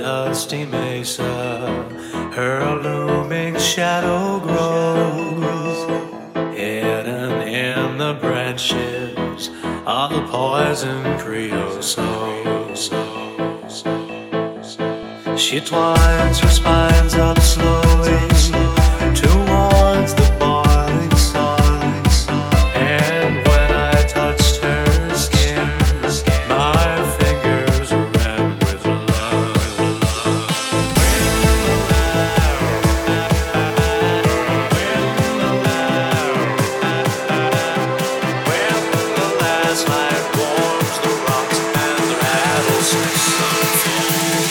dusty mesa, her looming shadow grows, hidden in the branches of the poison creosote. She twines her spines up slowly towards the boiling sun, and when I touched her skin, my fingers ran with love. When the last light warms the rocks and the rattlesnakes unfold.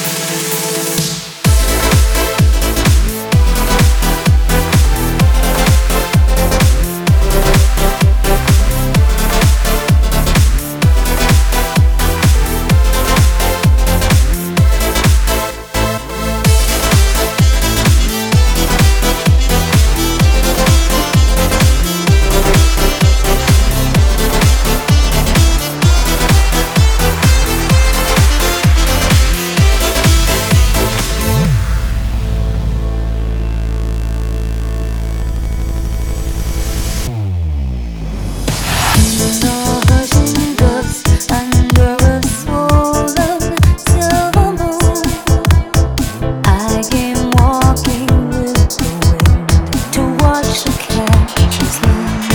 To watch the cat